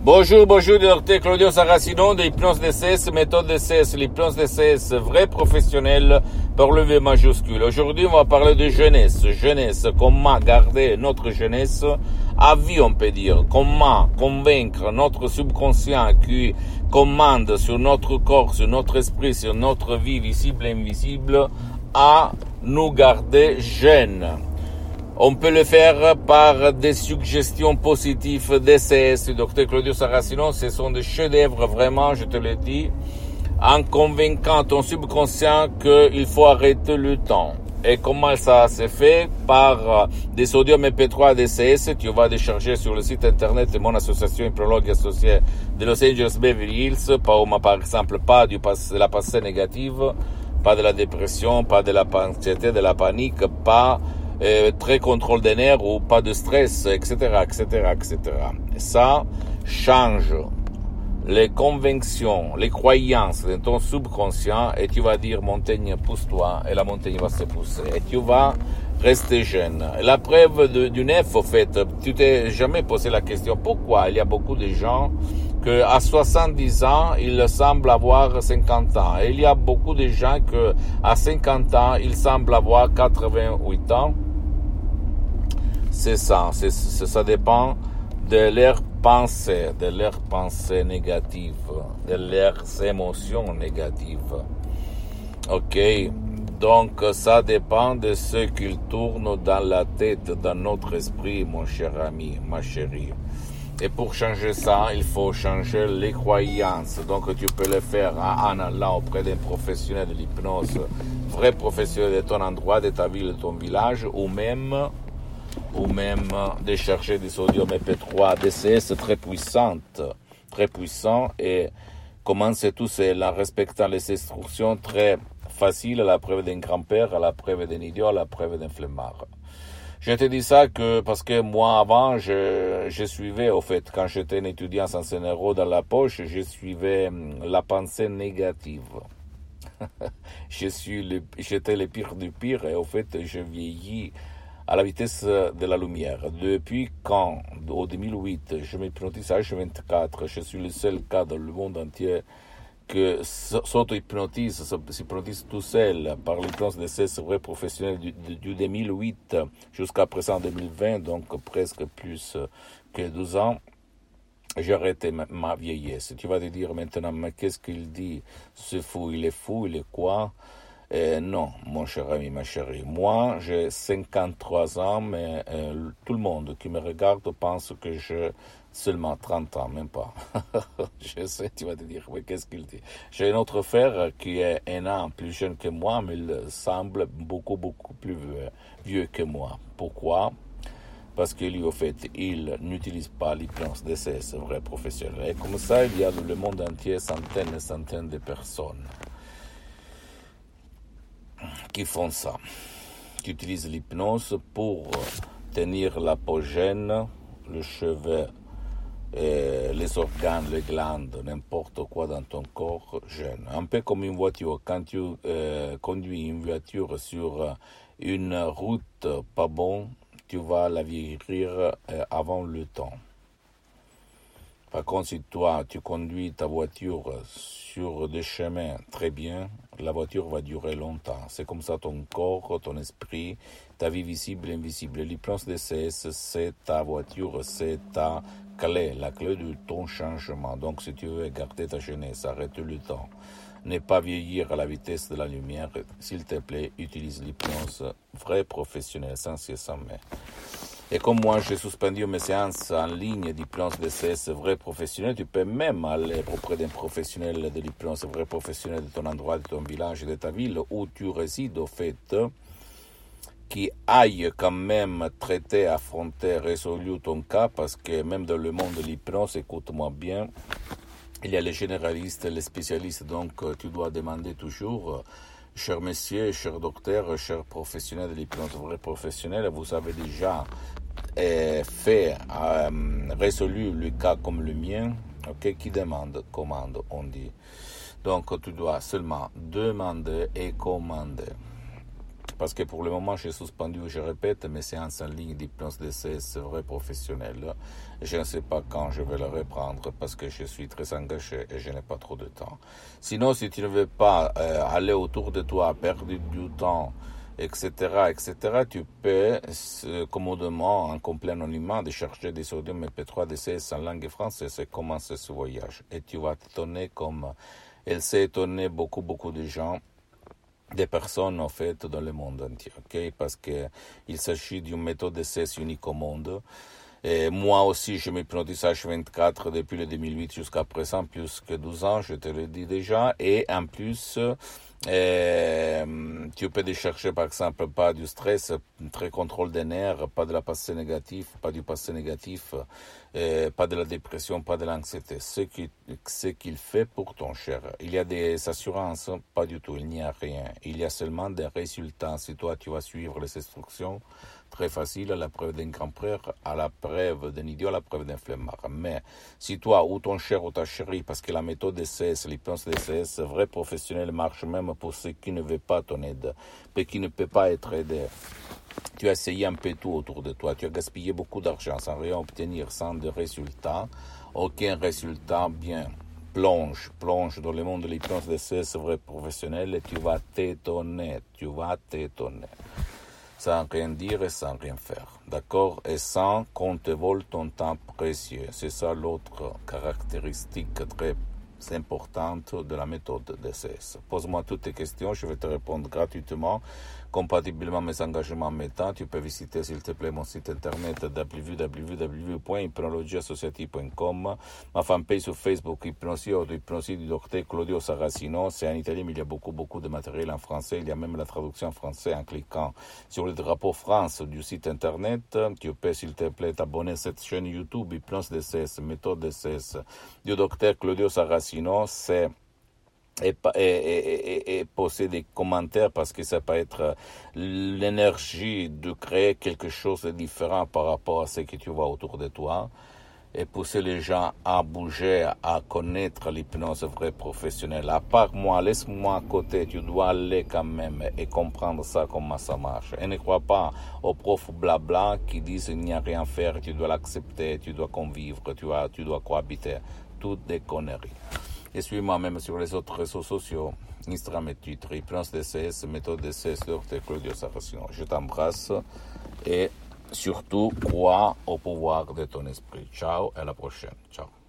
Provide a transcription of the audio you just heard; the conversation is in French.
Bonjour, docteur Claudio Saracino de l'hypnose DCS, méthode DCS, l'hypnose DCS, vrai professionnel par le V majuscule. Aujourd'hui, on va parler de jeunesse. Jeunesse, comment garder notre jeunesse à vie, on peut dire. Comment convaincre notre subconscient qui commande sur notre corps, sur notre esprit, sur notre vie visible et invisible, à nous garder jeunes. On peut le faire par des suggestions positives DCS du docteur Claudio Saracino. Ce sont des chefs-d'œuvre, vraiment, je te le dis, en convainquant ton subconscient qu'il faut arrêter le temps. Et comment ça se fait? Par des sodium MP3 DCS. Tu vas décharger sur le site internet de mon association hypnologue associée de Los Angeles Beverly Hills. Par exemple, pas de la pensée négative, pas de la dépression, pas de la anxiété, de la panique, pas très contrôle des nerfs ou pas de stress, etc., etc., etc. Et ça change les convictions, les croyances de ton subconscient et tu vas dire montagne pousse-toi et la montagne va se pousser et tu vas rester jeune. La preuve du neuf, au fait, tu t'es jamais posé la question pourquoi il y a beaucoup de gens que à 70 ans, ils semblent avoir 50 ans. Et il y a beaucoup de gens que à 50 ans, ils semblent avoir 88 ans. C'est ça, ça dépend de leurs pensées négatives, de leurs émotions négatives. Ok, donc ça dépend de ce qu'il tourne dans la tête, dans notre esprit, mon cher ami, ma chérie. Et pour changer ça, il faut changer les croyances. Donc tu peux le faire en allant auprès d'un professionnel de l'hypnose, vrai professionnel de ton endroit, de ta ville, de ton village, ou même décharger des sodium MP3 DCS très puissant et commencer tout seul en respectant les instructions très faciles à la preuve d'un grand-père, à la preuve d'un idiot, à la preuve d'un flemmard. Je te dis ça parce que moi avant, je suivais, au fait, quand j'étais un étudiant sans un euro dans la poche, je suivais la pensée négative. J'étais le pire du pire et au fait, je vieillis à la vitesse de la lumière. Depuis quand, au 2008, je m'hypnotise à H24, je suis le seul cas dans le monde entier que s'auto-hypnotise tout seul par l'hypnose de ces vrais professionnels du 2008 jusqu'à présent 2020, donc presque plus que 12 ans. J'ai arrêté ma vieillesse. Tu vas te dire maintenant, mais qu'est-ce qu'il dit? C'est fou, il est quoi? Non, mon cher ami, ma chérie. Moi, j'ai 53 ans, mais tout le monde qui me regarde pense que j'ai seulement 30 ans, même pas. Je sais, tu vas te dire, mais qu'est-ce qu'il dit? J'ai un autre frère qui est un an plus jeune que moi, mais il semble beaucoup plus vieux que moi. Pourquoi? Parce que lui, au fait, il n'utilise pas l'hypnose DCS, vrai professionnel. Et comme ça, il y a dans le monde entier centaines et centaines de personnes qui font ça, qui utilisent l'hypnose pour tenir la peau jeune, le cheveu, les organes, les glandes, n'importe quoi dans ton corps jeune. Un peu comme une voiture, quand tu conduis une voiture sur une route pas bonne, tu vas la vieillir avant le temps. Par contre, si toi, tu conduis ta voiture sur des chemins très bien, la voiture va durer longtemps. C'est comme ça ton corps, ton esprit, ta vie visible et invisible. L'hypnose DCS, c'est ta voiture, c'est ta clé, la clé de ton changement. Donc, si tu veux garder ta jeunesse, arrête le temps. Ne pas vieillir à la vitesse de la lumière, s'il te plaît, utilise l'hypnose vrai professionnel, sans cesse sans mais. Et comme moi, j'ai suspendu mes séances en ligne d'hypnose DCS vrai professionnel, tu peux même aller auprès d'un professionnel de l'hypnose vrai professionnel de ton endroit, de ton village, de ta ville où tu résides, au fait, qui aille quand même traiter, affronter, résoudre ton cas, parce que même dans le monde de l'hypnose, écoute-moi bien, il y a les généralistes, les spécialistes, donc tu dois demander toujours, cher monsieur, cher docteur, cher professionnel de l'hypnose vrai professionnel, vous avez déjà résolu le cas comme le mien, ok, qui commande, on dit. Donc tu dois seulement demander et commander. parce que pour le moment, j'ai suspendu, je répète, mes séances en ligne d'hypnose DCS vrai professionnel. Je ne sais pas quand je vais le reprendre parce que je suis très engagé et je n'ai pas trop de temps. Sinon, si tu ne veux pas aller autour de toi, perdre du temps, etc., etc., tu peux commodément, en complet anonymat, de chercher des sodium MP3 DCS en langue française et commencer ce voyage. Et tu vas t'étonner comme elle s'est étonnée beaucoup de gens, des personnes en fait dans le monde entier, ok? Parce que il s'agit d'une méthode DCS unique au monde. Et moi aussi, je m'hypnotise H24 depuis le 2008 jusqu'à présent, plus que 12 ans, je te le dis déjà. Et en plus, tu peux chercher par exemple pas du stress, très contrôle des nerfs, pas de la passé négatif, pas du passé négatif, pas de la dépression, pas de l'anxiété. Ce qu'il fait pour ton cher. Il y a des assurances? Pas du tout, il n'y a rien. Il y a seulement des résultats. Si toi tu vas suivre les instructions, très facile, à la preuve d'un grand frère, à la preuve d'un idiot, à la preuve d'un flemmard. Mais si toi ou ton cher ou ta chérie, parce que la méthode DCS, l'hypnose DCS, vrai professionnel, marche même pour ceux qui ne veulent pas ton aide, mais qui ne peut pas être aidé. Tu as essayé un peu tout autour de toi, tu as gaspillé beaucoup d'argent sans rien obtenir, sans de résultats, aucun résultat bien. Plonge dans le monde de l'hypnose DCS, vrai professionnel, et tu vas t'étonner. Sans rien dire et sans rien faire, d'accord? Et sans qu'on te vole ton temps précieux. C'est ça l'autre caractéristique très importante de la méthode DCS. Pose-moi toutes tes questions, je vais te répondre gratuitement, compatiblement à mes engagements en mes temps. Tu peux visiter s'il te plaît mon site internet www.hypnologieassociative.com, ma fanpage sur Facebook Hypnosie du docteur Claudio Saracino. C'est en italien mais il y a beaucoup de matériel en français, il y a même la traduction en français en cliquant sur le drapeau France du site internet. Tu peux s'il te plaît t'abonner à cette chaîne YouTube Hypnose DCS, méthode DCS du docteur Claudio Saracino. Et poser des commentaires parce que ça peut être l'énergie de créer quelque chose de différent par rapport à ce que tu vois autour de toi et pousser les gens à bouger, à connaître l'hypnose vraie professionnelle. À part moi, laisse-moi à côté, tu dois aller quand même et comprendre ça, comment ça marche. Et ne crois pas aux profs blabla qui disent il n'y a rien à faire, tu dois l'accepter, tu dois convivre, tu dois cohabiter. Toutes des conneries. Et suis-moi même sur les autres réseaux sociaux, Instagram et Twitter, Hypnose DCS, méthode DCS, Dr Claudio Saracino. Je t'embrasse et surtout crois au pouvoir de ton esprit. Ciao et à la prochaine. Ciao.